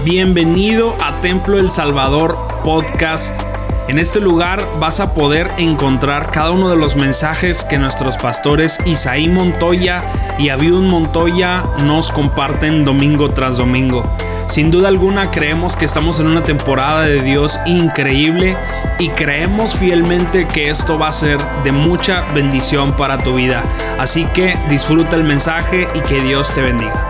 Bienvenido a Templo El Salvador Podcast. En este lugar vas a poder encontrar cada uno de los mensajes que nuestros pastores Isaí Montoya y Abiud Montoya nos comparten domingo tras domingo. Sin duda alguna creemos que estamos en una temporada de Dios increíble y creemos fielmente que esto va a ser de mucha bendición para tu vida. Así que disfruta el mensaje y que Dios te bendiga.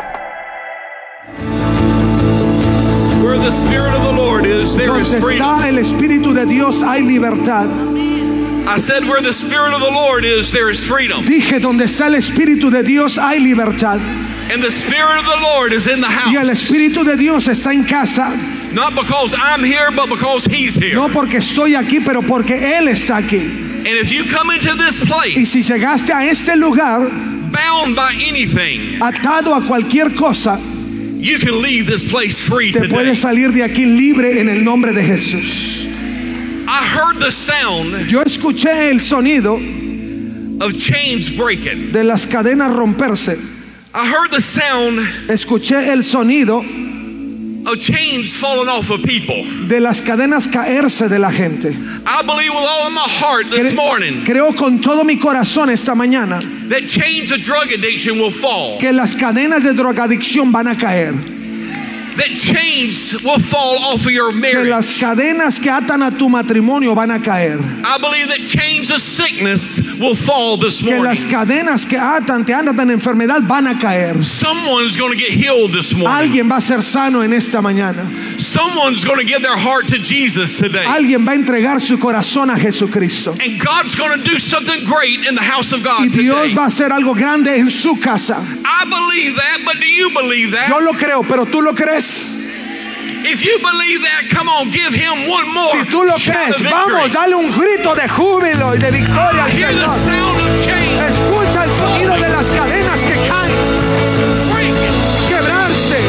Donde está el Espíritu de Dios hay libertad. I said where the Spirit of the Lord is, there is freedom. Dije, donde está el Espíritu de Dios hay libertad. And the Spirit of the Lord is in the house. Y el Espíritu de Dios está en casa. Not because I'm here, but because He's here. No porque estoy aquí, pero porque Él está aquí. And if you come into this Y place si llegaste a este lugar bound by anything, atado a cualquier cosa, you can leave this place free te today. puedes salir de aquí libre en el nombre de Jesús. I heard the sound Yo escuché el sonido of chains breaking. de las cadenas romperse. I heard the sound Escuché el sonido of chains falling off of people. de las cadenas caerse de la gente. I believe with all of my heart this morning Creo con todo mi corazón esta mañana that chains of drug addiction will fall. que las cadenas de drogadicción van a caer. That chains will fall off of your Que marriage. las cadenas que atan a tu matrimonio van a caer. I believe that chains of sickness will fall this Que las morning. cadenas que te atan en enfermedad van a caer. Someone's going to get healed this morning. Alguien va a ser sano en esta mañana. Someone's going to give their heart to Jesus today. Alguien va a entregar su corazón a Jesucristo. And God's going to do something great in the house of God Y Dios today. va a hacer algo grande en su casa. I believe that, but do you believe that? Yo lo creo, pero tú lo crees. If you believe that, come on, give Him one more Si tú lo shout crees, of vamos, victory. dale un grito de júbilo y de victoria al Hear the Señor. sound of chains Escucha el sonido de las cadenas que caen, breaking. quebrarse.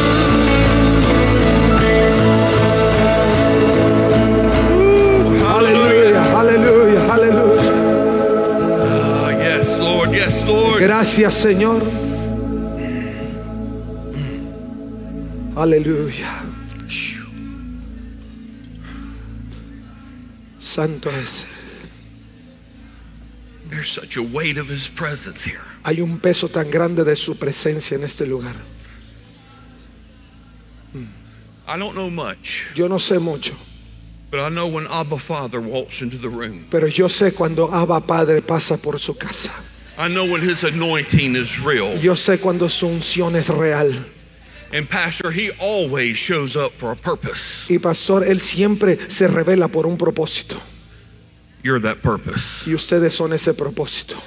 Aleluya, aleluya, aleluya. Yes, Lord, yes, Lord. Gracias, Señor. Aleluya. Santo es. There's such a weight of His presence here. Hay un peso tan grande de su presencia en este lugar. I don't know much, Yo no sé mucho, but I know when Abba Father walks into the room. pero yo sé cuando Abba Padre pasa por su casa. I know when His anointing is real. Yo sé cuando su unción es real. And Pastor, He always shows up for a purpose. Y pastor, Él siempre se revela por un propósito. You're that purpose. Y ustedes son ese propósito.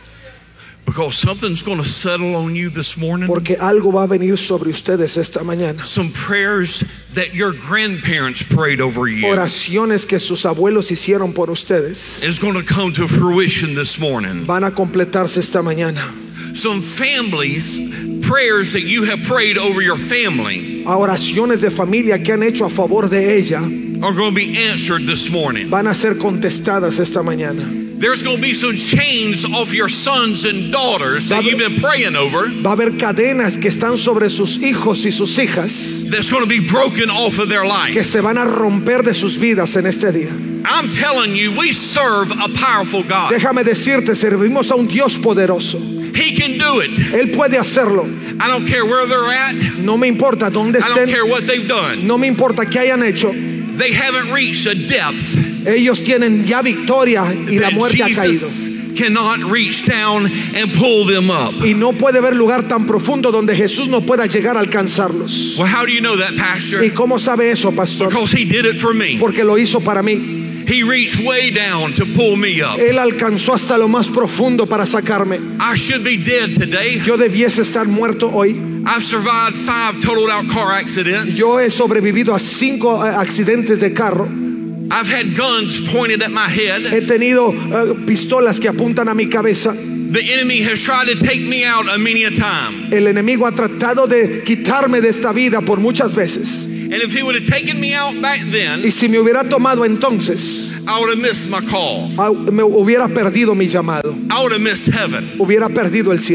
Because something's going to settle on you this morning. Porque algo va a venir sobre ustedes esta mañana. Some prayers that your grandparents prayed over you Oraciones que sus abuelos hicieron por ustedes is going to come to fruition this morning. van a completarse esta mañana. Some families, prayers that you have prayed over your family A oraciones de familia que han hecho a favor de ella are going to be answered this morning. van a ser contestadas esta mañana. There's going to be some chains off your sons and daughters that you've been praying over Va a haber cadenas que están sobre sus hijos y sus hijas that's going to be broken off of their que life. se van a romper de sus vidas en este día. I'm telling you, we serve a powerful God. Déjame decirte, servimos a un Dios poderoso. He can do it. Él puede hacerlo. I don't care where they're at. No me importa dónde I don't care estén. what they've done. No me importa qué hayan hecho. They haven't reached a depth Ellos tienen ya victoria y la that muerte ha caído. Jesus cannot reach down and pull them up. Y no puede haber lugar tan profundo donde Jesús no pueda llegar a alcanzarlos. Well, how do you know that, Pastor? ¿Y cómo sabe eso, pastor? Because He did it for me. Porque lo hizo para mí. He reached way down to pull me up. Él alcanzó hasta lo más profundo para sacarme. I should be dead today. Yo debiese estar muerto hoy. I've survived 5 totaled out car accidents. Yo he sobrevivido a 5 accidentes de carro. I've had guns pointed at my head. He tenido pistolas que apuntan a mi cabeza. The enemy has tried to take me out a many a time. El enemigo ha tratado de quitarme de esta vida por muchas veces. And if he would have taken me out back then, Y si me hubiera tomado entonces, I would have missed my call. me hubiera perdido mi llamado. I would have missed heaven. Hubiera perdido el cielo.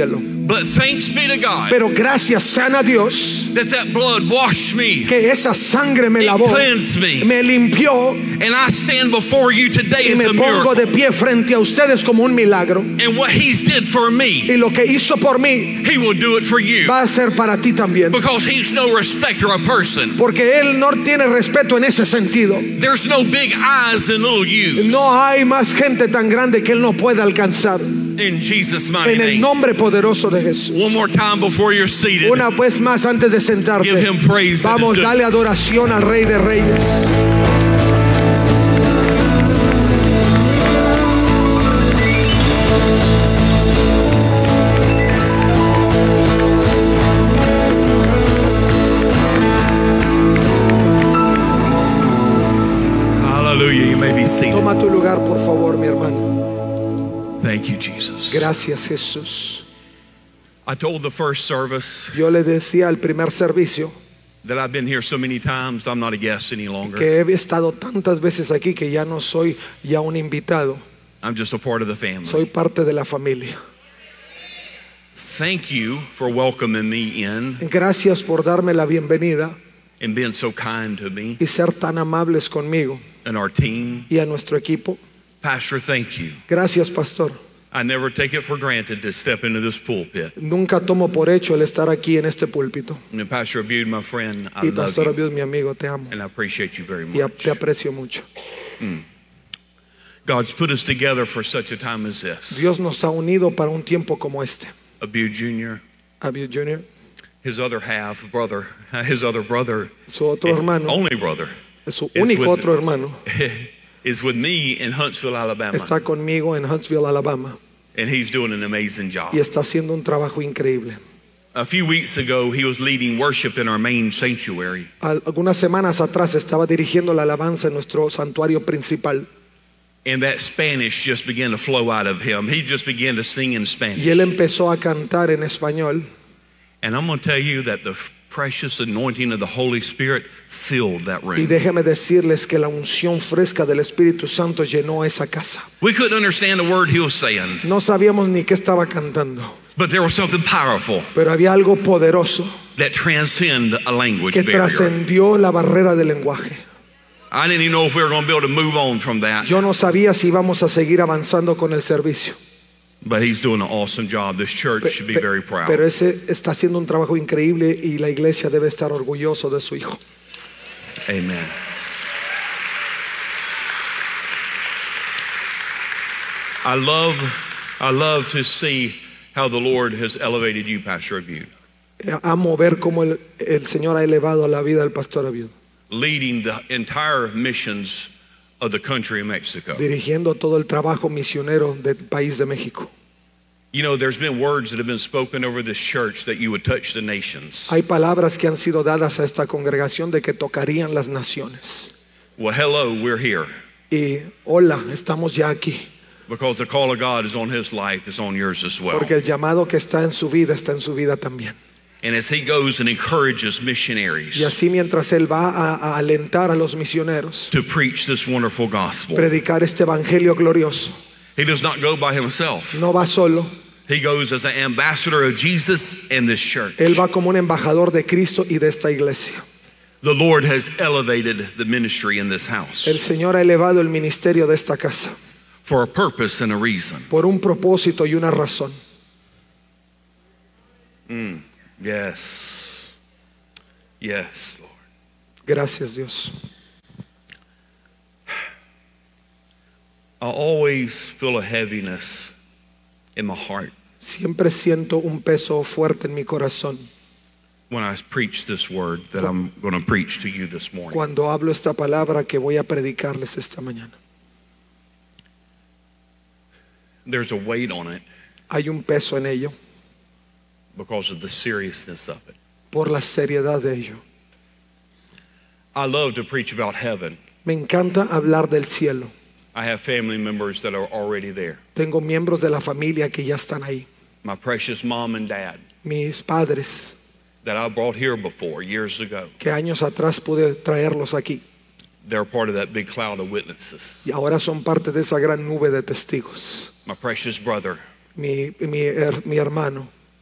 But thanks be to God Pero gracias sean a Dios that blood washed me, que esa sangre me it lavó, cleansed me, me limpió, and I stand before you today y as me a pongo miracle. de pie frente a ustedes como un milagro. And what He's did for me, Y lo que hizo por mí He will do it for you. va a ser para ti también. Because He's no respecter of person. Porque Él no tiene respeto en ese sentido. There's no big eyes and little U's. No hay más gente tan grande que Él no pueda alcanzar. In Jesus' mighty En el name. nombre poderoso de Jesús. One more time before you're seated. Una vez más antes de sentarte, Give Him praise that vamos, is due. dale adoración al Rey de Reyes. Hallelujah. You may be seated. Toma tu lugar, por favor, mi hermano. Thank you, Jesus. Gracias, Jesús. I told the first service Yo le decía al primer servicio that I've been here so many times, I'm not a guest any longer. que he estado tantas veces aquí que ya no soy ya un invitado, I'm just a part of the family. soy parte de la familia. Thank you for welcoming me in Gracias por darme la bienvenida and being so kind to me y ser tan amables conmigo and our team. y a nuestro equipo. Pastor, thank you. Gracias, pastor. I never take it for granted to step into this pulpit. Nunca tomo por hecho el estar aquí en este púlpito. And Pastor Abud, my friend, I Y love pastor you Abiud, mi amigo, te amo and I appreciate you very y much. te aprecio mucho. God's put us together for such a time as this. Dios nos ha unido para un tiempo como este. Abud Jr., Abiud Jr., his other half brother, his other brother, su otro hermano, only brother, su es único with- otro hermano, is with me in Huntsville, Alabama. está conmigo en Huntsville, Alabama, And he's doing an amazing job. y está haciendo un trabajo increíble. A few weeks ago, he was leading worship in our main sanctuary. Algunas semanas atrás estaba dirigiendo la alabanza en nuestro santuario principal And that Spanish just began to flow out of him. He just began to sing in y él Spanish. empezó a cantar en español. And I'm going to tell you that the precious anointing of the Holy Spirit filled that Y room. déjeme decirles que la unción fresca del Espíritu Santo llenó esa casa. We couldn't understand a word he was saying, No sabíamos ni qué estaba cantando, but there was something powerful pero había algo poderoso that transcended a language que barrier. trascendió la barrera del lenguaje. I didn't even know if we were going to be able to move on from that, Yo no sabía si íbamos a seguir avanzando con el servicio, but he's doing an awesome job. This church should be very proud. pero ese está haciendo un trabajo increíble y la iglesia debe estar orgulloso de su hijo. Amen. I love to see how the Lord has elevated you, Pastor Abud, Amo ver cómo el Señor ha elevado a la vida del pastor Abiud, leading the entire missions of the country of Mexico. dirigiendo todo el trabajo misionero del país de México. You know, there's been words that have been spoken over this church that you would touch the nations. Hay palabras que han sido dadas a esta congregación de que tocarían las naciones. Well, hello, we're here Y hola, estamos ya aquí, because the call of God is on his life, is on yours as well. porque el llamado que está en su vida está en su vida también. And as he goes and encourages Y missionaries así mientras él va a alentar a los misioneros, to preach this wonderful gospel, predicar este evangelio glorioso, he does not go by himself. no va solo, He goes as an ambassador of Jesus and this church. él va como un embajador de Cristo y de esta iglesia. The Lord has elevated the ministry in this house El Señor ha elevado el ministerio de esta casa for a purpose and a reason. por un propósito y una razón. Yes. Yes, Lord. Gracias, Dios. I always feel a heaviness in my heart Siempre siento un peso fuerte en mi corazón when I preach this word that I'm going to preach to you this morning. cuando hablo esta palabra que voy a predicarles esta mañana. There's a weight on it Hay un peso en ello because of the seriousness of it. por la seriedad de ello. I love to preach about heaven. Me encanta hablar del cielo. I have family members that are already there. Tengo miembros de la familia que ya están ahí. My precious mom and dad Mis padres that I brought here before years ago. que años atrás pude traerlos aquí They're part of that big cloud of witnesses. y ahora son parte de esa gran nube de testigos. My precious brother Mi hermano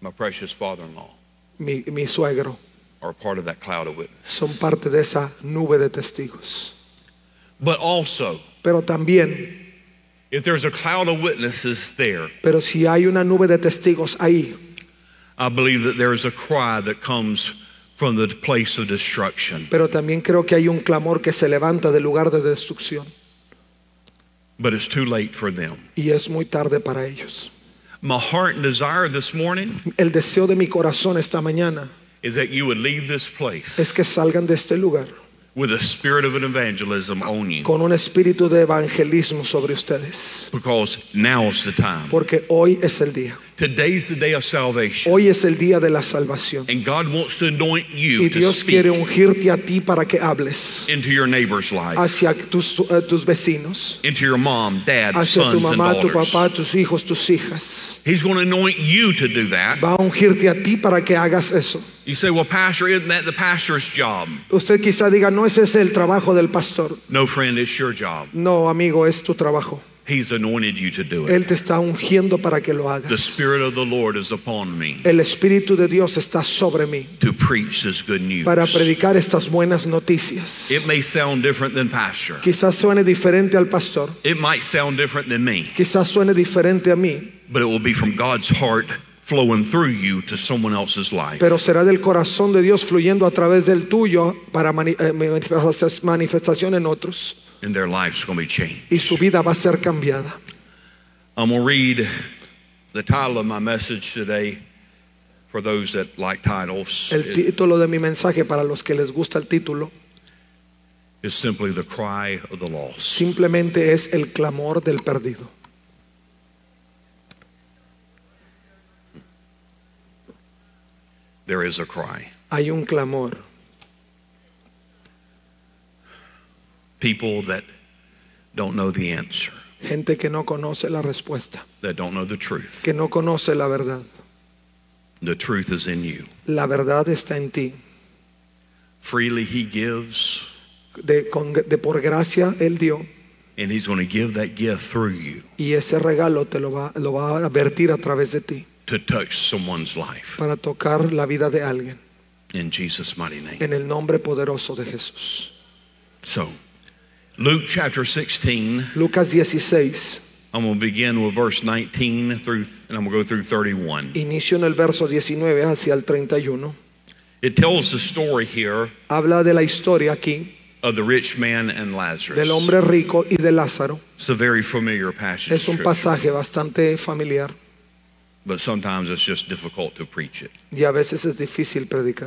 my precious father-in-law, mi suegro, are part of that cloud of witnesses. son parte de esa nube de testigos. But also, Pero también, if there's a cloud of witnesses there, pero si hay una nube de testigos ahí, I believe that there is a cry that comes from the place of destruction. pero también creo que hay un clamor que se levanta del lugar de destrucción. But it's too late for them. Y es muy tarde para ellos. My heart and desire this morning El deseo de mi corazón esta mañana is that you would leave this place es que salgan de este lugar with a spirit of an evangelism on you, con un espíritu de evangelismo sobre ustedes. because now's the time. Porque hoy es el día. Today's the day of salvation. Hoy es el día de la salvación. And God wants to anoint you Y to Dios quiere speak ungirte a ti para que hables into your neighbor's life, hacia tus vecinos, into your mom, dad, hacia tu sons, and mamá, tu daughters. papá, tus hijos, tus hijas. He's going to anoint you to do that. Va a ungirte a ti para que hagas eso. You say, well, Pastor, isn't that the pastor's job? Usted quizá diga, no, ese es el trabajo del pastor. No, friend, it's your job. No, amigo, es tu trabajo. He's anointed you to do it. Él te está ungiendo para que lo The hagas. Spirit of the Lord is upon me El Espíritu de Dios está sobre mí to preach this good news. para predicar estas buenas noticias. It may sound different than pastor. Quizás suene diferente al pastor, It might sound different than me, quizás suene diferente a mí, but it will be from God's heart flowing through you to someone else's life. pero será del corazón de Dios fluyendo a través del tuyo para manifestación en otros, And their life's going to be changed. y su vida va a ser cambiada. I'm going to read the title of my message today for those that like titles. El It título de mi mensaje, para los que les gusta el título, is simply The Cry of the Lost. simplemente es el clamor del perdido. There is a cry. Hay un clamor. People that don't know the answer, Gente que no conoce la respuesta, that don't know the truth. que no conoce la verdad. The truth is in you. La verdad está en ti. Freely He gives, De por gracia Él dio, and He's going to give that gift through you y ese regalo te lo va a vertir a través de ti to touch someone's life. para tocar la vida de alguien, In Jesus' mighty name. en el nombre poderoso de Jesús. So, Luke chapter 16, Lucas 16, I'm going to begin with verse 19 through, and I'm going to go through 31. inicio en el verso 19 hacia el 31. It tells the story here Habla de la historia aquí of the rich man and Lazarus. del hombre rico y de Lázaro. It's a very familiar passage, Es un of scripture, pasaje bastante familiar but sometimes it's just difficult to preach it. y a veces es difícil predicar.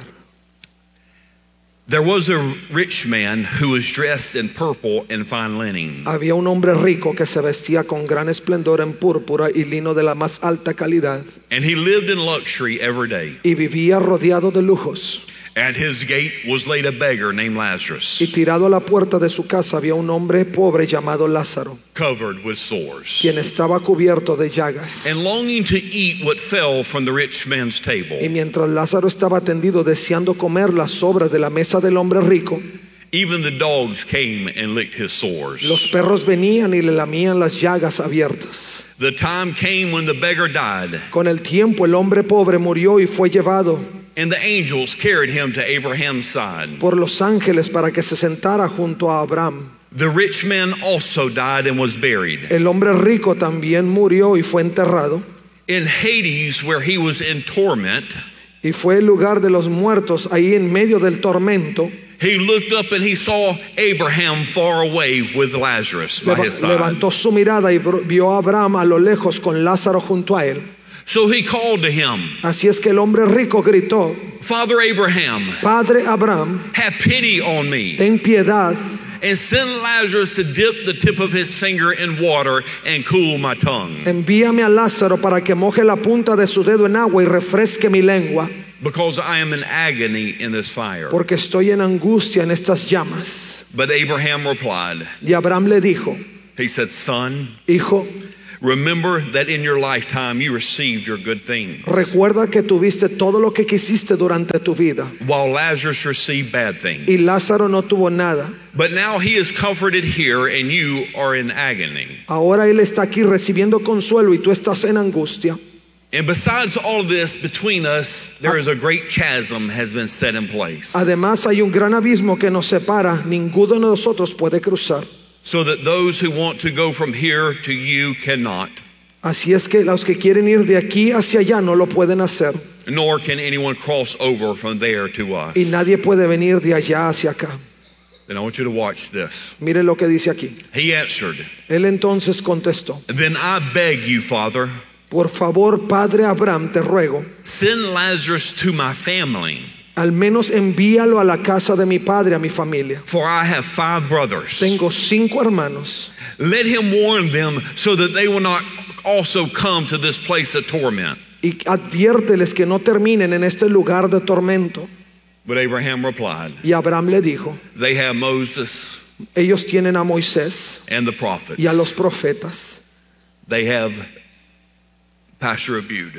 There was a rich man who was dressed in purple and fine linen, Había un hombre rico que se vestía con gran esplendor en púrpura y lino de la más alta calidad, and he lived in luxury every day. y vivía rodeado de lujos. At his gate was laid a beggar named Lazarus, Y tirado a la puerta de su casa había un hombre pobre llamado Lázaro, covered with sores, quien estaba cubierto de llagas. and longing to eat what fell from the rich man's table. Y mientras Lázaro estaba tendido deseando comer las sobras de la mesa del hombre rico, Even the dogs came and licked his sores. los perros venían y le lamían las llagas abiertas. The time came when the beggar died, Con el tiempo el hombre pobre murió y fue llevado and the angels carried him to Abraham's side. por los ángeles para que se sentara junto a Abraham. The rich man also died and was buried. El hombre rico también murió y fue enterrado, In Hades, where he was in torment, y fue el lugar de los muertos, ahí en medio del tormento. he looked up and he saw Abraham far away with Lazarus by his side. Levantó su mirada y vio a Abraham a lo lejos con Lázaro junto a él. So he called to him, Así es que el hombre rico gritó: Father Abraham, Padre Abraham, have pity on me, ten piedad and send Lazarus to dip the tip of his finger in water and cool my tongue, envíame a Lázaro para que moje la punta de su dedo en agua y refresque mi lengua, because I am in agony in this fire. porque estoy en angustia en estas llamas. But Abraham replied, Y Abraham le dijo: he said, Son, Hijo, remember that in your lifetime you received your good things, recuerda que tuviste todo lo que quisiste durante tu vida, while Lazarus received bad things. y Lázaro no tuvo nada. But now he is comforted here and you are in agony. Ahora él está aquí recibiendo consuelo y tú estás en angustia. And besides all of this, between us, there is a great chasm has been set in place. Además hay un gran abismo que nos separa, ninguno de nosotros puede cruzar. So that those who want to go from here to you cannot. Así es que los que quieren ir de aquí hacia allá no lo pueden hacer. Nor can anyone cross over from there to us. Y nadie puede venir de allá hacia acá. Then I want you to watch this. Mire lo que dice aquí. He answered, Él entonces contestó: Then I beg you, Father, por favor, Padre Abraham, te ruego, send Lazarus to my family. al menos envíalo a la casa de mi padre, a mi familia. For I have 5 brothers. Tengo 5 hermanos. Let him warn them so that they will not also come to this place of torment. Y adviérteles que no terminen en este lugar de tormento. But Abraham replied, Y Abraham le dijo: They have Moses ellos tienen a Moisés and the prophets. y a los profetas. They have Pastor Abud.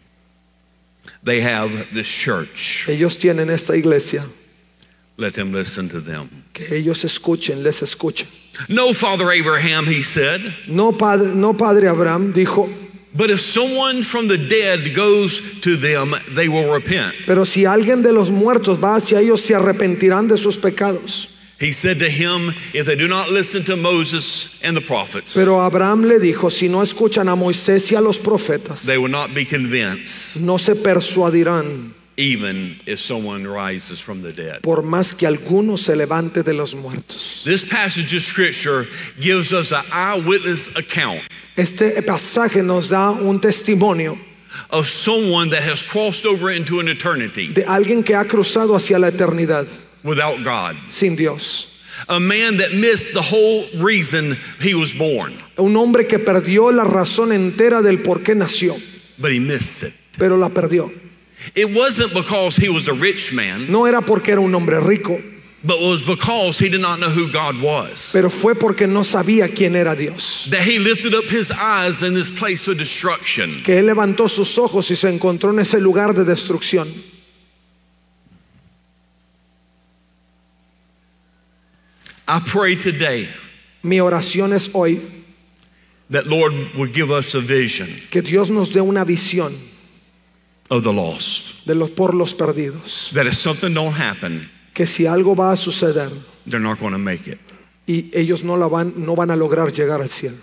They have this church. Ellos tienen esta iglesia. Let them listen to them. Que ellos escuchen, les escuchen. No, Father Abraham, he said, No, Padre Abraham, dijo, but if someone from the dead goes to them, they will repent. pero si alguien de los muertos va hacia ellos, se arrepentirán de sus pecados. He said to him, if they do not listen to Moses and the prophets, Pero Abraham le dijo: si no escuchan a Moisés y a los profetas, they will not be convinced, no se persuadirán, even if someone rises from the dead. por más que alguno se levante de los muertos. This passage of scripture gives us an eyewitness account Este pasaje nos da un testimonio of someone that has crossed over into an eternity de alguien que ha cruzado hacia la eternidad without God. sin Dios. A man that missed the whole reason he was born, Un hombre que perdió la razón entera del por qué nació, but he missed it. pero la perdió. It wasn't because he was a rich man, No era porque era un hombre rico, but it was because he did not know who God was. pero fue porque no sabía quién era Dios. That he lifted up his eyes in this place of destruction. Que él levantó sus ojos y se encontró en ese lugar de destrucción. I pray today Mi oración es hoy that Lord would give us a vision que Dios nos dé una visión of the lost. de por los perdidos. That if something don't happen, Que si algo va a suceder they're not going to make it. y ellos no van a lograr llegar al cielo.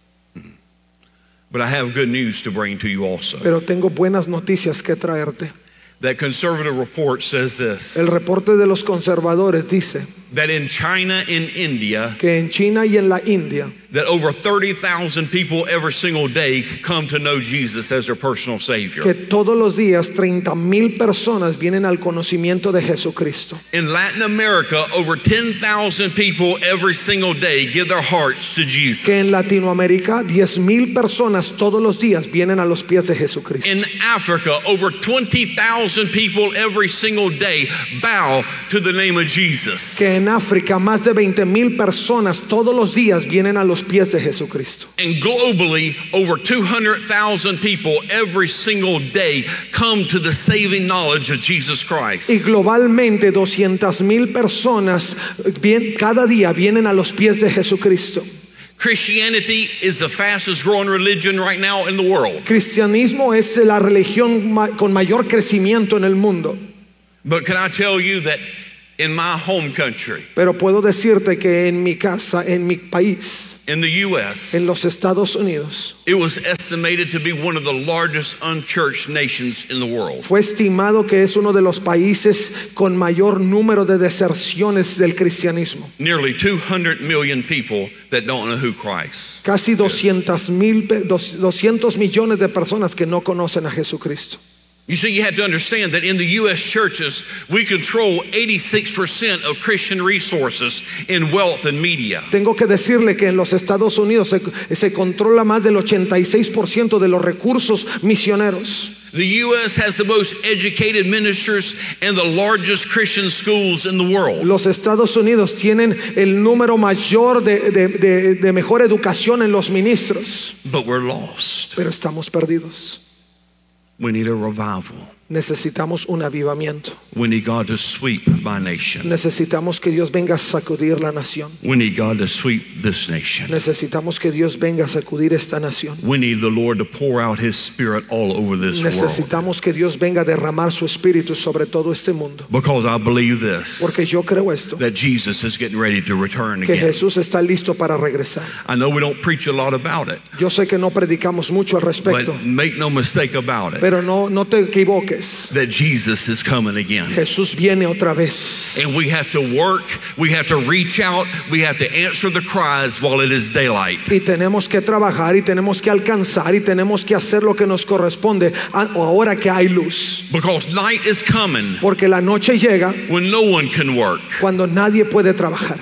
But I have good news to bring to you also. Pero tengo buenas noticias que traerte. That conservative report says this, El reporte de los conservadores dice that in China and India, que en China y en la India, that over 30,000 people every single day come to know Jesus as their personal Savior. que todos los días 30,000 personas vienen al conocimiento de Jesucristo. In Latin America, over 10,000 people every single day give their hearts to Jesus. Que en Latinoamérica 10,000 personas todos los días vienen a los pies de Jesucristo. In Africa, over 20,000 people every single day bow to the name of Jesus. Que en África más de 20,000 personas todos los días vienen a los pies de Jesucristo. And globally, over 200,000 people every single day come to the saving knowledge of Jesus Christ. Y globalmente 200,000 personas cada día vienen a los pies de Jesucristo. Christianity is the fastest growing religion right now in the world. Cristianismo es la religión con mayor crecimiento en el mundo. But can I tell you that in my home country, Pero puedo decirte que en mi casa, en mi país, in the U.S., en los Estados Unidos, it was estimated to be one of the largest unchurched nations in the world. fue estimado que es uno de los países con mayor número de deserciones del cristianismo. Nearly 200 million people that don't know who Christ. Casi 200 millones de personas que no conocen a Jesucristo. You see, you have to understand that in the U.S. churches, we control 86% of Christian resources in wealth and media. Tengo que decirle que en los Estados Unidos se controla más del 86% de los recursos misioneros. The U.S. has the most educated ministers and the largest Christian schools in the world. Los Estados Unidos tienen el número mayor de mejor educación en los ministros, But we're lost. pero estamos perdidos. We need a revival. Necesitamos un avivamiento. We need God to sweep my nation. Necesitamos que Dios venga a sacudir la nación. We need God to sweep this nation. Necesitamos que Dios venga a sacudir esta nación. We need the Lord to pour out His Spirit all over this world. Necesitamos que Dios venga a derramar su espíritu sobre todo este mundo. Because I believe this, Porque yo creo esto, that Jesus is getting ready to return que again. Jesús está listo para regresar. I know we don't preach a lot about it, Yo sé que no predicamos mucho al respecto, but make no mistake about it, pero no te equivoques. that Jesus is coming again. Jesús viene otra vez. And we have to work, we have to reach out, we have to answer the cries while it is daylight. Y tenemos que trabajar y tenemos que alcanzar y tenemos que hacer lo que nos corresponde ahora que hay luz. Because night is coming Porque la noche llega when no one can work. cuando nadie puede trabajar.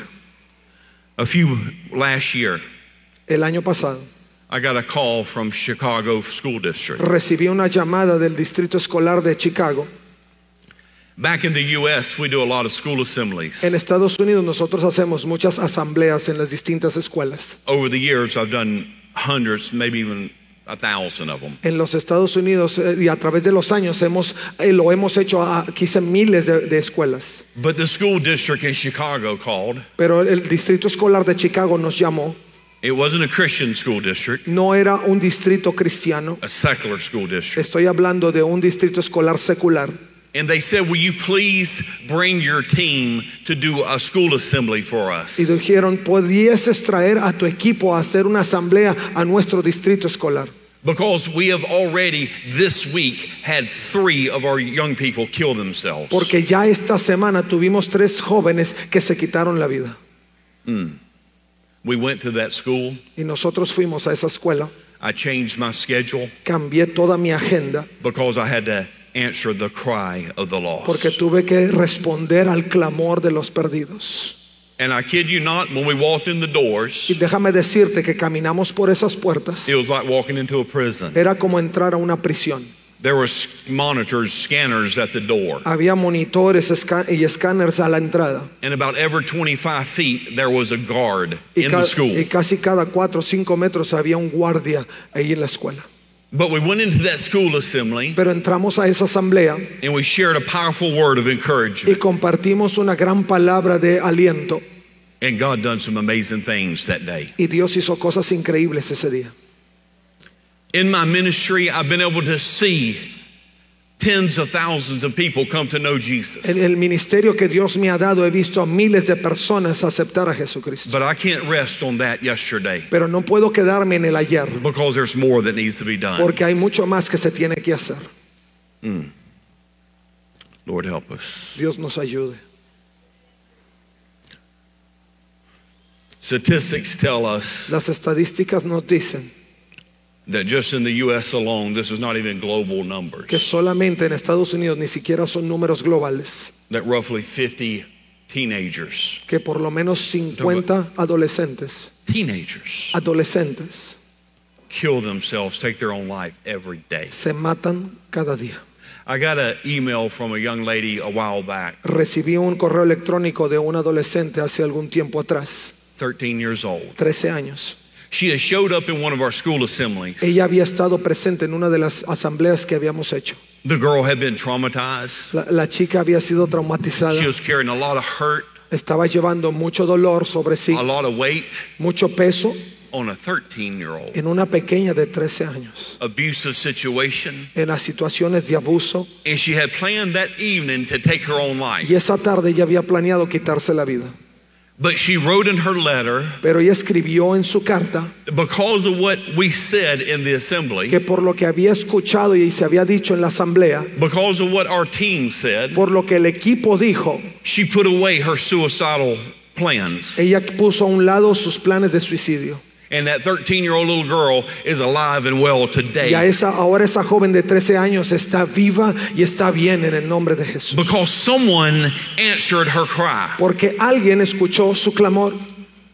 Last year, El año pasado I got a call from Chicago School District. recibí una llamada del distrito escolar de Chicago. Back in the U.S., we do a lot of school assemblies. En Estados Unidos nosotros hacemos muchas asambleas en las distintas escuelas. Over the years, I've done hundreds, maybe even 1,000 of them. En los Estados Unidos y a través de los años lo hemos hecho a quizá miles de escuelas. But the school district in Chicago called. Pero el distrito escolar de Chicago nos llamó. It wasn't a Christian school district, No era un distrito cristiano. a secular school district. Estoy hablando de un distrito escolar secular. And they said, will you please bring your team to do a school assembly for us? Y dijeron, ¿podrías traer a tu equipo a hacer una asamblea a nuestro distrito escolar? Because we have already this week had 3 of our young people kill themselves. Porque ya esta semana tuvimos 3 jóvenes que se quitaron la vida. We went to that school. Y nosotros fuimos a esa escuela. I changed my schedule Cambié toda mi agenda because I had to answer the cry of the porque lost. tuve que responder al clamor de los perdidos. And I kid you not, when we walked in the doors, Y déjame decirte que caminamos por esas puertas. it was like walking into a prison. Era como entrar a una prisión. There were monitors, scanners at the door. Había monitores y escáneres a la entrada. And about every 25 feet, there was a guard Y, in the school. y casi cada 4 o 5 metros había un guardia ahí en la escuela. But we went into that school assembly Pero entramos a esa asamblea and we shared a powerful word of y encouragement. compartimos una gran palabra de aliento. And God done some amazing things that day. Y Dios hizo cosas increíbles ese día. In my ministry, I've been able to see tens of thousands of people come to know Jesus. En el ministerio que Dios me ha dado he visto a miles de personas aceptar a Jesucristo. But I can't rest on that yesterday Pero no puedo quedarme en el ayer because there's more that needs to be done. porque hay mucho más que se tiene que hacer. Lord, help us. Dios nos ayude. Statistics tell us Las estadísticas nos dicen that just in the U.S. alone, this is not even global que numbers, solamente en Estados Unidos ni siquiera son números globales, that roughly 50 teenagers que por lo menos 50 adolescentes kill themselves, take their own life every day. se matan cada día. I got an email from a young lady a while back, Recibí un correo electrónico de un adolescente hace algún tiempo atrás, 13 years old. 13 años. She has showed up in one of our school assemblies. Ella había estado presente en una de las asambleas que habíamos hecho. The girl had been traumatized. La chica había sido traumatizada, She was carrying a lot of hurt, estaba llevando mucho dolor sobre sí, a lot of weight mucho peso on a 13-year-old. en una pequeña de 13 años, Abusive situation. en las situaciones de abuso. And she had planned that evening to take her own life. Y esa tarde ella había planeado quitarse la vida. But she wrote in her letter, Pero ella escribió en su carta because of what we said in the assembly, que por lo que había escuchado y se había dicho en la asamblea, because of what our team said, por lo que el equipo dijo, she put away her suicidal plans. ella puso a un lado sus planes de suicidio. And that 13-year-old little girl is alive and well today. Y ahora esa joven de 13 años está viva y está bien en el nombre de Jesús. Because someone answered her cry. Porque alguien escuchó su clamor.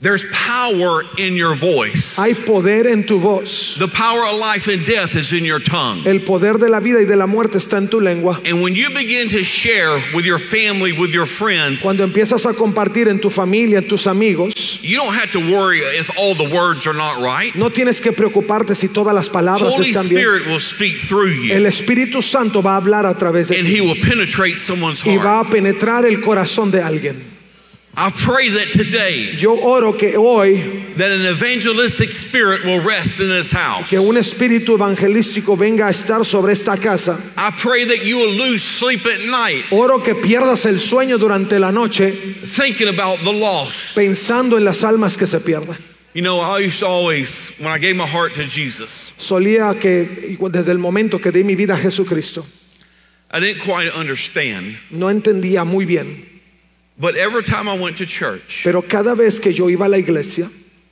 There's power in your voice. Hay poder en tu voz. The power of life and death is in your tongue. El poder de la vida y de la muerte está en tu lengua. And when you begin to share with your family, with your friends, Cuando empiezas a compartir en tu familia, en tus amigos, you don't have to worry if all the words are not right. no tienes que preocuparte si todas las palabras Holy están bien. Spirit will speak through El you, Espíritu Santo va a hablar a través de and ti He will penetrate someone's y heart. va a penetrar el corazón de alguien. I pray that today Yo oro que hoy that an evangelistic spirit will rest in this house. que un espíritu evangelístico venga a estar sobre esta casa. I pray that you will lose sleep at night Oro que pierdas el sueño durante la noche thinking about the lost. pensando en las almas que se pierden. You know, I used to always, when I gave my heart to Jesus, Solía que desde el momento que di mi vida a Jesucristo, I didn't quite understand. no entendía muy bien, But every time I went to church, pero cada vez que yo iba a la iglesia,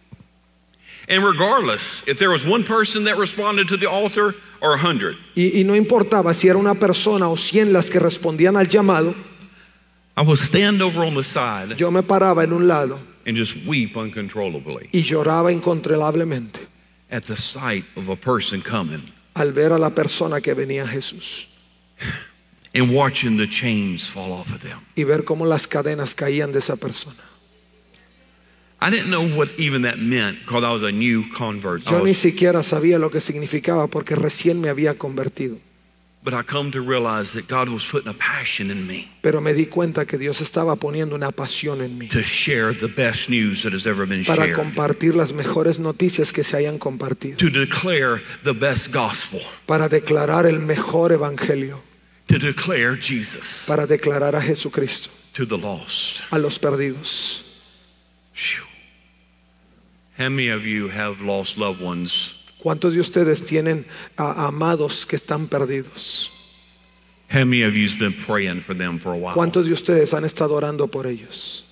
and regardless if there was one person that responded to the altar or 100, y no importaba si era una persona o 100 las que respondían al llamado, I would stand over on the side yo me paraba en un lado and just weep uncontrollably y lloraba incontrolablemente at the sight of a person coming al ver a la persona que venía a Jesús and watching the chains fall off of them. y ver cómo las cadenas caían de esa persona. I didn't know what even that meant because I was a new convert. Yo ni siquiera sabía lo que significaba porque recién me había convertido. But I come to realize that God was putting a passion in me Pero me di cuenta que Dios estaba poniendo una pasión en mí to share the best news that has ever been para shared, compartir las mejores noticias que se hayan compartido, to declare the best gospel, para declarar el mejor evangelio, to declare Jesus para declarar a Jesucristo to the lost. a los perdidos. Phew. How many of you have lost loved ones? ¿Cuántos de ustedes tienen amados que están perdidos? How many of you's been praying for them for a while? ¿Cuántos de ustedes han estado orando por ellos?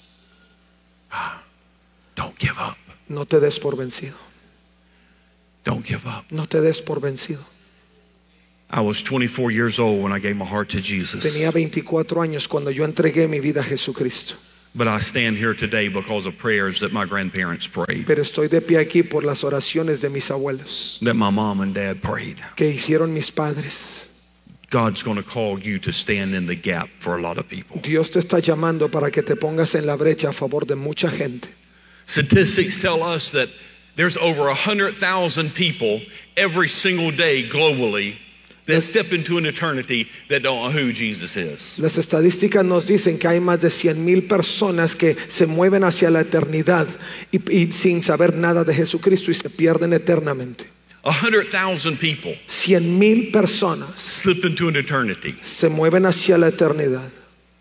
Don't give up. No te des por vencido. Don't give up. No te des por vencido. I was 24 years old when I gave my heart to Jesus. Tenía 24 años cuando yo entregué mi vida a Jesucristo. But I stand here today because of prayers that my grandparents prayed, Pero estoy de pie aquí por las oraciones de mis abuelos that my mom and dad prayed. que hicieron mis padres. God's going to call you to stand in the gap for a lot of people. Dios te está llamando para que te pongas en la brecha a favor de mucha gente. Statistics tell us that there's over 100,000 people every single day globally that step into an eternity that don't know who Jesus is. Las estadísticas nos dicen que hay más de 100,000 personas que se mueven hacia la eternidad y sin saber nada de Jesucristo y se pierden eternamente. 100,000 people 100,000 personas slip into an eternity se mueven hacia la eternidad.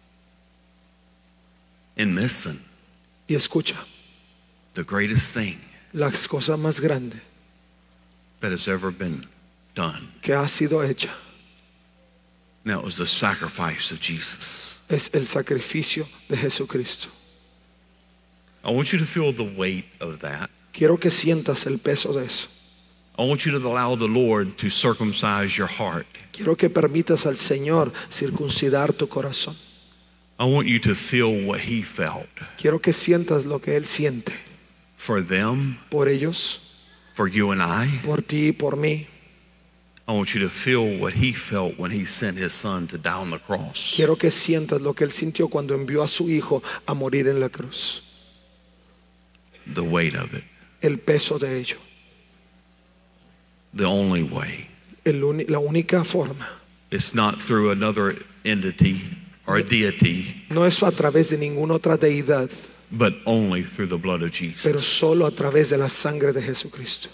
and missing Y escucha, the greatest thing las cosas más grandes that has ever been done. que ha sido hecha Now it was the sacrifice of Jesus. es el sacrificio de Jesucristo. I want you to feel the weight of that. Quiero que sientas el peso de eso. I want you to allow the Lord to circumcise your heart. Quiero que permitas al Señor circuncidar tu corazón. I want you to feel what He felt Quiero que sientas lo que Él siente for them, por ellos, for you and I. por ti y por mí. I want you to feel what He felt when He sent His Son to die on the cross. Quiero que sientas lo que Él sintió cuando envió a su Hijo a morir en la cruz. The weight of it. El peso de ello. The only way. La única forma. It's not through another entity or a deity, No es a través de ninguna otra deidad, but only through the blood of pero Jesus. solo a través de la sangre de Jesucristo.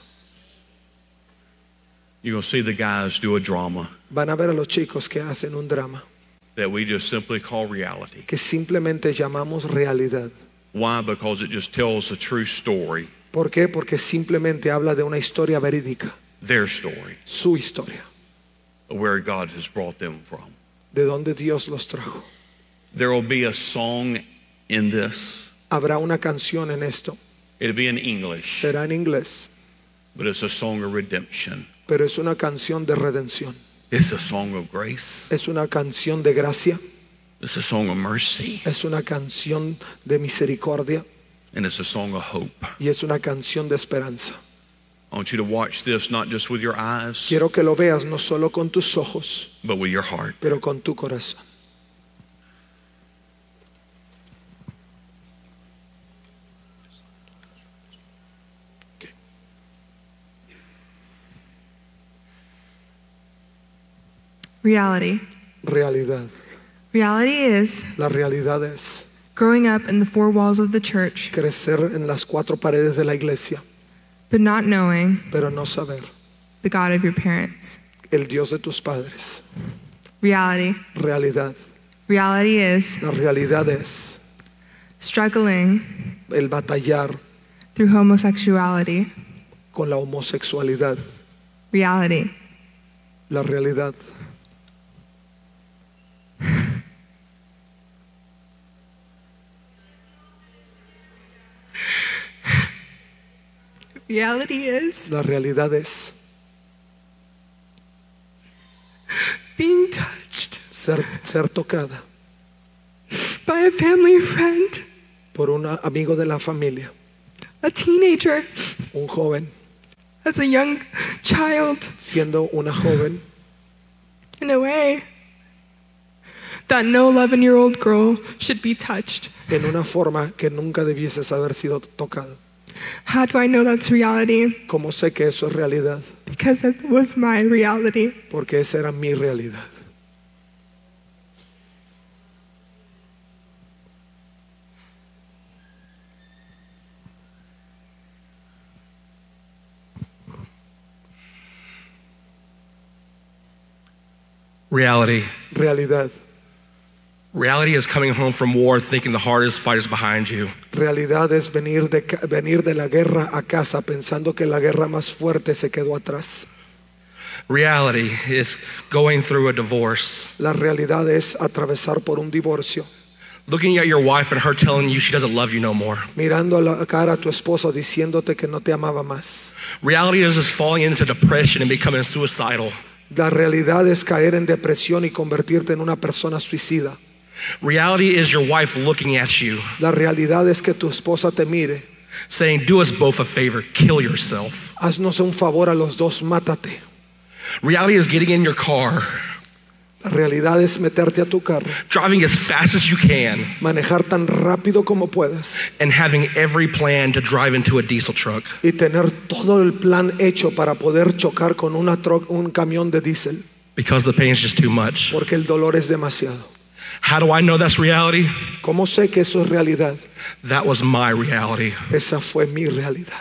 You're going to see the guys do a drama Van a ver a los chicos que hacen un drama that we just simply call reality. que simplemente llamamos realidad. Why? Because it just tells a true story, ¿Por qué? Porque simplemente habla de una historia verídica, their story, su historia, of where God has brought them from. de donde Dios los trajo. There will be a song in this. Habrá una canción en esto, It'll be in English, será en inglés, but it's a song of redemption. pero es una canción de redención. It's a song of grace. Es una canción de gracia, It's a song of mercy. es una canción de misericordia. And it's a song of hope. y es una canción de esperanza. I want you to watch this not just with your eyes, Quiero que lo veas no solo con tus ojos, but with your heart. pero con tu corazón. Reality. Realidad. Reality is La realidad es growing up in the four walls of the church, crecer en las cuatro paredes de la iglesia, but not knowing pero no saber the God of your parents. el Dios de tus padres. Reality. Realidad. Reality is La realidad es struggling el batallar through homosexuality. con la homosexualidad. Reality. La realidad. Reality is La realidad es being touched ser tocada by a family friend, por un amigo de la familia, a teenager, un joven, as a young child, siendo una joven, in a way that no 11-year-old girl should be touched. en una forma que nunca debieses haber sido tocada. How do I know that's reality? ¿Cómo sé que eso es realidad? Because that was my reality. Porque esa era mi realidad. Reality. Realidad. Reality is coming home from war thinking the hardest fight is behind you. Realidad es venir de la guerra a casa pensando que la guerra más fuerte se quedó atrás. Reality is going through a divorce, La realidad es atravesar por un divorcio, looking at your wife and her telling you she doesn't love you no more. mirando a la cara a tu esposa diciéndote que no te amaba más. Reality is just falling into depression and becoming suicidal. La realidad es caer en depresión y convertirte en una persona suicida. Reality is your wife looking at you, La realidad es que tu esposa te mire. saying, do us both a favor, kill yourself. Haznos un favor a los dos, mátate. Reality is getting in your car, La realidad es meterte a tu carro, driving as fast as you can, manejar tan rápido como puedas and having every plan to drive into a diesel truck. y tener todo el plan hecho para poder chocar con un camión de diésel, Because the pain is just too much. porque el dolor es demasiado. How do I know that's reality? ¿Cómo sé que eso es realidad? That was my reality. Esa fue mi realidad.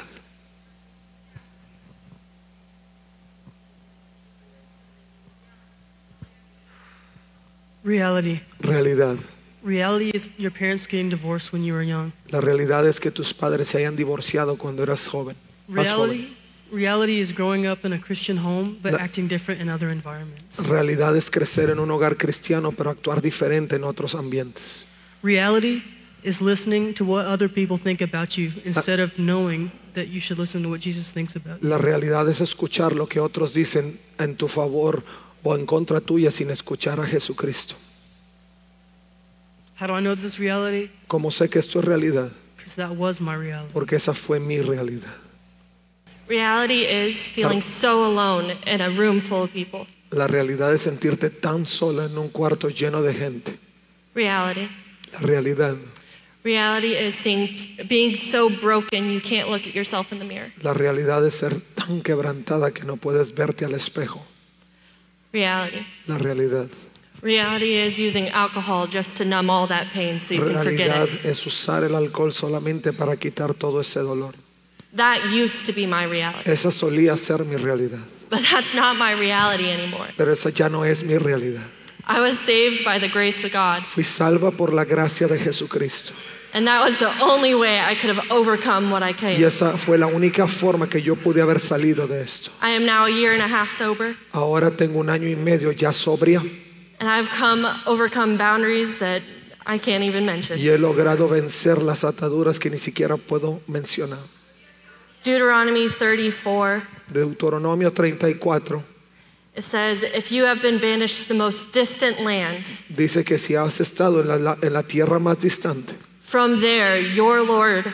Reality. Realidad. Reality is your parents getting divorced when you were young. La realidad es que tus padres se hayan divorciado cuando eras joven. Más joven. Reality is growing up in a Christian home but La- acting different in other environments. Realidad es crecer en un hogar cristiano pero actuar diferente en otros ambientes. Reality is listening to what other people think about you instead of knowing that you should listen to what Jesus thinks about you. La realidad es escuchar lo que otros dicen en tu favor o en contra tuya sin escuchar a Jesucristo. How do I know this is reality? ¿Cómo sé que esto es realidad? Because that was my reality. Porque esa fue mi realidad. Reality is feeling so alone in a room full of people. La realidad es sentirte tan sola en un cuarto lleno de gente. Reality. La realidad. Reality is being so broken you can't look at yourself in the mirror. La realidad es ser tan quebrantada que no puedes verte al espejo. Reality. La realidad. Reality is using alcohol just to numb all that pain so you can forget Realidad it. es usar el alcohol solamente para quitar todo ese dolor. That used to be my reality. Esa solía ser mi realidad, But that's not my reality anymore. pero esa ya no es mi realidad. I was saved by the grace of God, Fui salva por la gracia de Jesucristo. and that was the only way I could have overcome what I Y came. esa fue la única forma que yo pude haber salido de esto. I am now a year and a half sober, Ahora tengo 1 año y medio ya sobria and I've overcome boundaries that I can't even mention. y he logrado vencer las ataduras que ni siquiera puedo mencionar. Deuteronomy 34, Deuteronomio 34 it says, if you have been banished to the most distant land, dice que si has estado en la tierra más distante, from there your Lord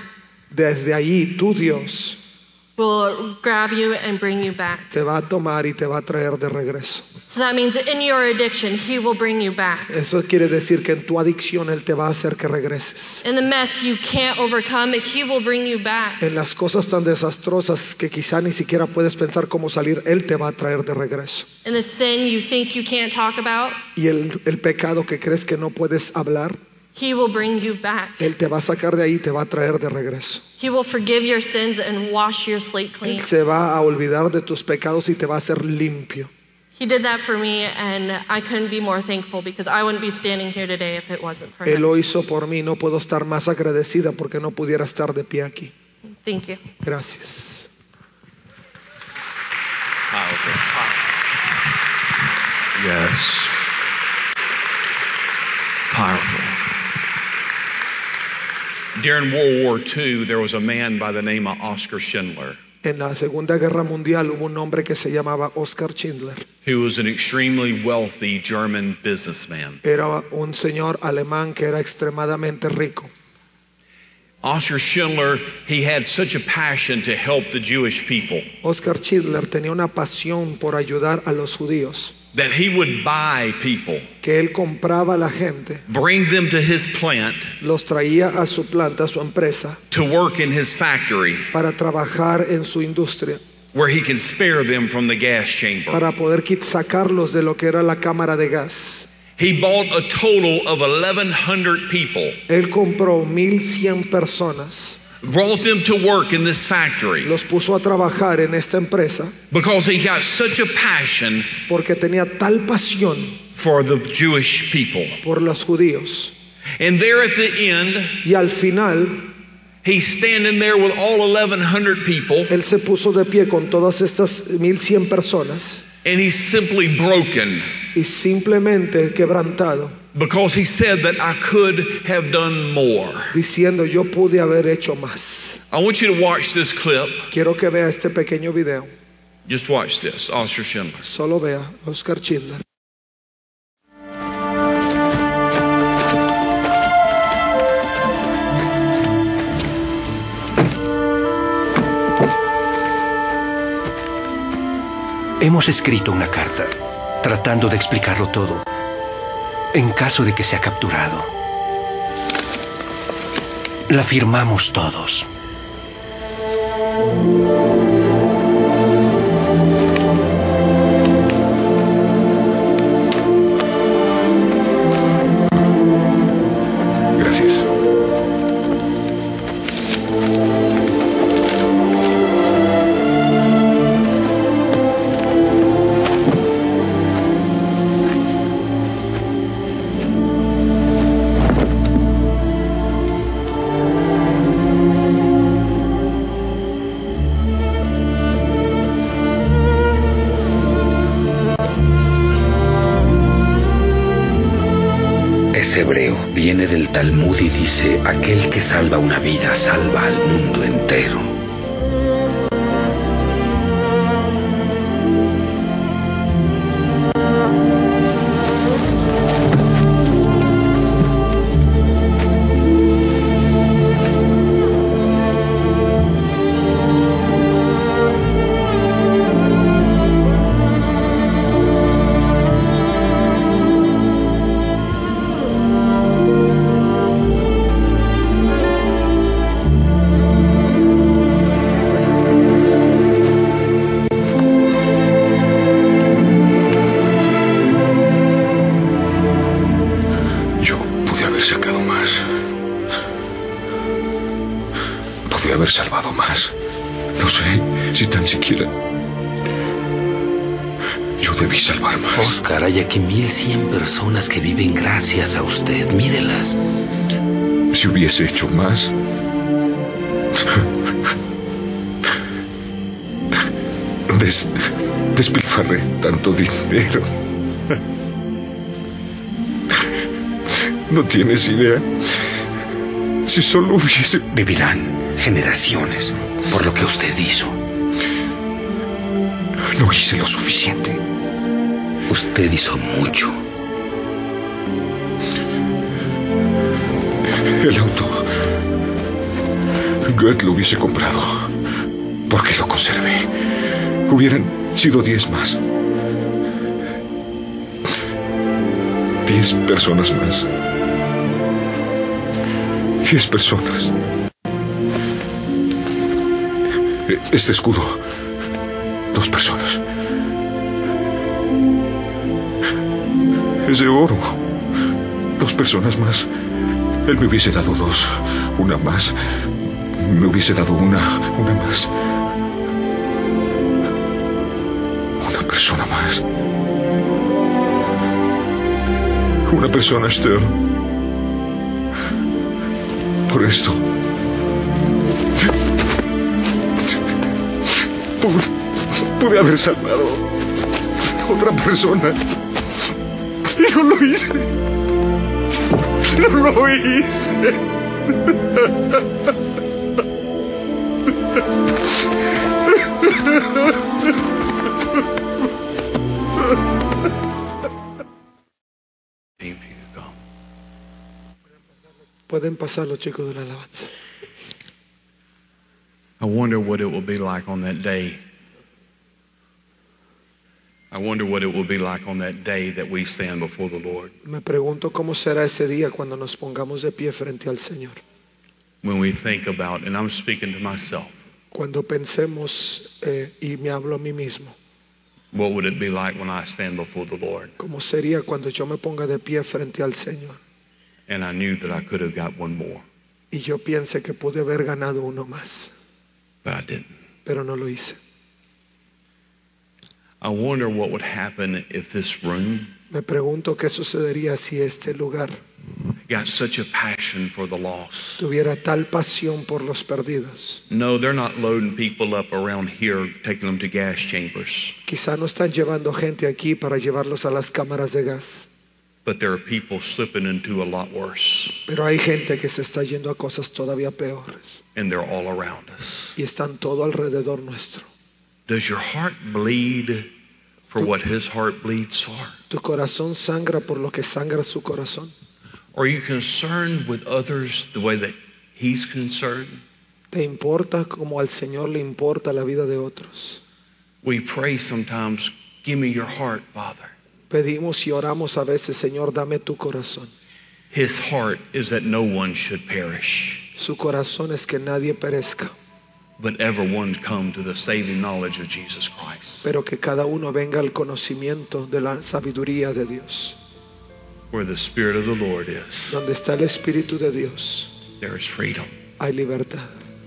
desde ahí tu Dios will grab you and bring you back. te va a tomar y te va a traer de regreso. So that means in your addiction, He will bring you back. Eso quiere decir que en tu adicción Él te va a hacer que regreses. In the mess you can't overcome, He will bring you back. En las cosas tan desastrosas que quizá ni siquiera puedes pensar cómo salir, Él te va a traer de regreso. In the sin you think you can't talk about, Y el pecado que crees que no puedes hablar, He will bring you back. Él te va a sacar de ahí y te va a traer de regreso. He will forgive your sins and wash your slate clean. Él se va a olvidar de tus pecados y te va a hacer limpio. He did that for me, and I couldn't be more thankful because I wouldn't be standing here today if it wasn't for Él Him. lo hizo por mí, no puedo estar más agradecida porque no pudiera estar de pie aquí. Thank you. Gracias. Powerful. Yes. Powerful. During World War II, there was a man by the name of Oskar Schindler, En la Segunda Guerra Mundial hubo un hombre que se llamaba Oskar Schindler. who was an extremely wealthy German businessman. Era un señor alemán que era extremadamente rico. Oskar Schindler, he had such a passion to help the Jewish people Oskar Schindler tenía una pasión por ayudar a los judíos, that he would buy people, que él compraba a la gente, bring them to his plant los traía a su planta, a su empresa, to work in his factory para trabajar en su industria, where he can spare them from the gas chamber. para poder sacarlos de lo que era la cámara de gas. He bought a total of 1,100 people, Él compró 1,100 personas, brought them to work in this factory los puso a trabajar en esta empresa because he got such a passion porque tenía tal pasión for the Jewish people. por los judíos. And there at the end, Y al final, he's standing there with all 1,100 people, él se puso de pie con todas estas 1,100 personas and he's simply broken y simplemente quebrantado, because he said that I could have done more. diciendo yo pude haber hecho más. I want you to watch this clip. Quiero que vea este pequeño video. Just watch this, Oskar Schindler. Solo vea Oskar Schindler. Hemos escrito una carta, tratando de explicarlo todo, en caso de que sea capturado. La firmamos todos. Gracias. Es hebreo, viene del Talmud y dice: aquel que salva una vida salva al mundo entero. Podría haber salvado más. No sé si tan siquiera yo debí salvar más. Oscar, hay aquí 1,100 personas que viven gracias a usted. Mírelas. Si hubiese hecho más, despilfarré tanto dinero. No tienes idea. Si solo hubiese... Vivirán generaciones por lo que usted hizo. No hice lo suficiente. Usted hizo mucho. El auto Gad lo hubiese comprado. ¿Por qué lo conservé? Hubieran sido 10 más. 10 personas más. 10 personas. Este escudo. 2 personas. Es de oro. 2 personas más. Él me hubiese dado 2. Una más. Me hubiese dado una más. Una persona más. Una persona, Esther. Por esto. Pude haber salvado a otra persona. Y no lo hice. No lo hice. Pueden pasar los chicos de la alabanza. I wonder what it will be like on that day. I wonder what it will be like on that day that we stand before the Lord. Me pregunto cómo será ese día cuando nos pongamos de pie frente al Señor. When we think about, and I'm speaking to myself, Cuando pensemos, y me hablo a mí mismo, what would it be like when I stand before the Lord? cómo sería cuando yo me ponga de pie frente al Señor And I knew that I could have got one more, y yo piense que pude haber ganado uno más, but I didn't. pero no lo hice. I wonder what would happen if this room Me pregunto qué sucedería si este lugar got such a passion for the lost. tuviera tal pasión por los perdidos. No, they're not loading people up around here, taking them to gas chambers. Quizá no están llevando gente aquí para llevarlos a las cámaras de gas, But there are people slipping into a lot worse, pero hay gente que se está yendo a cosas todavía peores and they're all around us. y están todo alrededor nuestro. Does your heart bleed for what his heart bleeds for? ¿Tu corazón sangra por lo que sangra su corazón? Are you concerned with others the way that he's concerned? ¿Te importa como al Señor le importa la vida de otros? We pray sometimes, give me your heart, Father. Pedimos y oramos a veces, Señor, dame tu corazón. His heart is that no one should perish, Su corazón es que nadie perezca, but everyone come to the saving knowledge of Jesus Christ. pero que cada uno venga al conocimiento de la sabiduría de Dios. Where the Spirit of the Lord is, Donde está el Espíritu de Dios, there is freedom. hay libertad.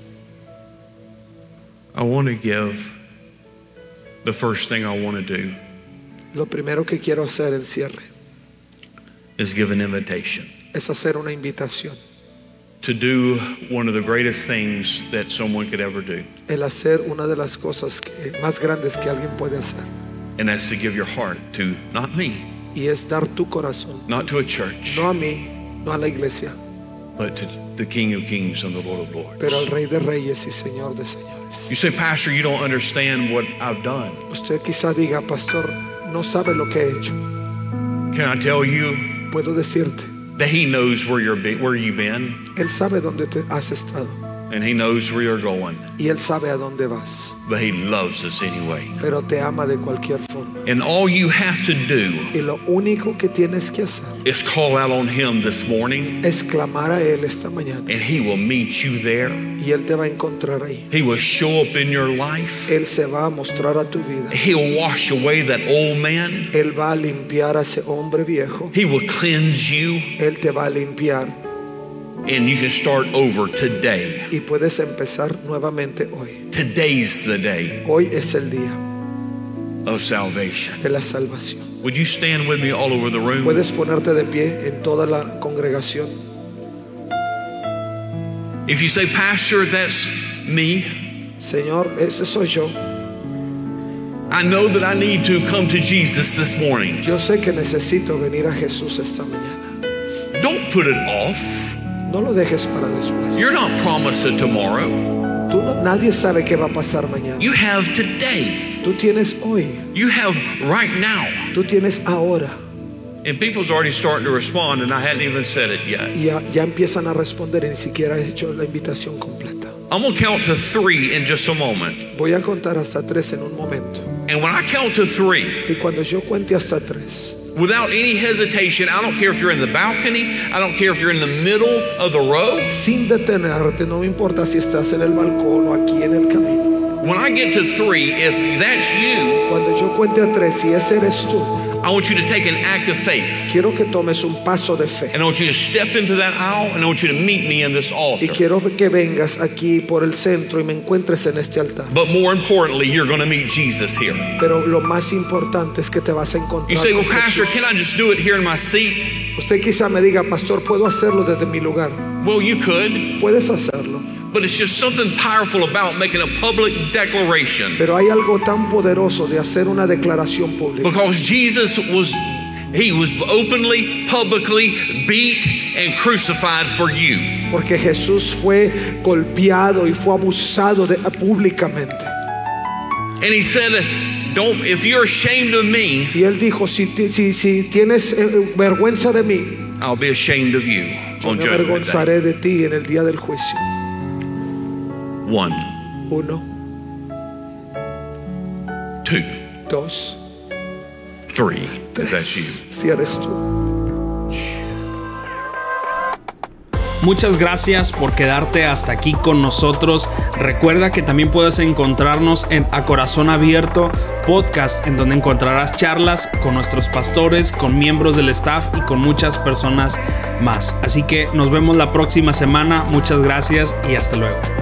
I want to give the first thing I want to do Lo primero que quiero hacer en cierre is give an invitation es hacer una invitación. to do one of the greatest things that someone could ever do, El hacer una de las cosas más grandes que alguien puede hacer. and that's to give your heart to not me, Y es dar tu corazón, not to a church, no a mí, no a la iglesia, but to the King of Kings and the Lord of Lords. pero al Rey de Reyes y Señor de Señores. You say, Pastor, you don't understand what I've done. Usted quizá diga, pastor, no sabe lo que he hecho. Can I tell you Puedo decirte, that He knows where you've been, Él sabe dónde te has estado and He knows where you're going, y Él sabe a dónde vas, but He loves us anyway. pero te ama de cualquier forma. And all you have to do Y lo único que tienes que hacer is call out on Him this morning, es clamar a Él esta mañana and He will meet you there. y Él te va a encontrar ahí. He will show up in your life. Él se va a mostrar a tu vida. He'll wash away that old man. Él va a limpiar a ese hombre viejo. He will cleanse you, Él te va a limpiar and you can start over today. y puedes empezar nuevamente hoy. Today's the day Hoy es el día of salvation. de la salvación. Would you stand with me all over the room? Puedes ponerte de pie en toda la congregación. If you say, Pastor, that's me. Señor, ese soy yo. I know that I need to come to Jesus this morning. Yo sé que necesito venir a Jesús esta mañana. Don't put it off. No lo dejes para después. You're not promised a tomorrow. Nadie sabe qué va a pasar mañana. You have today. Tú tienes hoy. You have right now. Tú tienes ahora. And people's already starting to respond, and I hadn't even said it yet. Y ya empiezan a responder y ni siquiera he hecho la invitación completa. I'm going to count to 3 in just a moment. Voy a contar hasta 3 en un momento. And when I count to 3, Y cuando yo cuente hasta 3, without any hesitation, I don't care if you're in the balcony, I don't care if you're in the middle of the road. sin detenerte, no me importa si estás en el balcón o aquí en el camino. When I get to 3, if that's you, Cuando yo cuente a 3, si ese eres tú, I want you to take an act of faith. quiero que tomes un paso de fe. And I want you to step into that aisle, and I want you to meet me in this Y altar. quiero que vengas aquí por el centro y me encuentres en este altar. But more importantly, you're going to meet Jesus here. Pero lo más importante es que te vas a You encontrar say, well, con Pastor, Jesús. can I just do it here in my seat? Usted quizá me diga, pastor, ¿puedo hacerlo desde mi lugar? Well, you could, Puedes hacerlo. but it's just something powerful about making a public declaration. Pero hay algo tan poderoso de hacer una declaración pública. Because Jesus was openly, publicly beat and crucified for you. Porque Jesús fue golpeado y fue abusado públicamente. And he said, if you're ashamed of me, Y él dijo, si tienes vergüenza de mí, I'll be ashamed of you yo on me Judgment Day. avergonzaré de ti en el día del juicio. 1, 1, 2, 2, 3. If that's you. 3. Si eres tú. Muchas gracias por quedarte hasta aquí con nosotros. Recuerda que también puedes encontrarnos en A Corazón Abierto podcast, en donde encontrarás charlas con nuestros pastores, con miembros del staff y con muchas personas más. Así que nos vemos la próxima semana. Muchas gracias y hasta luego.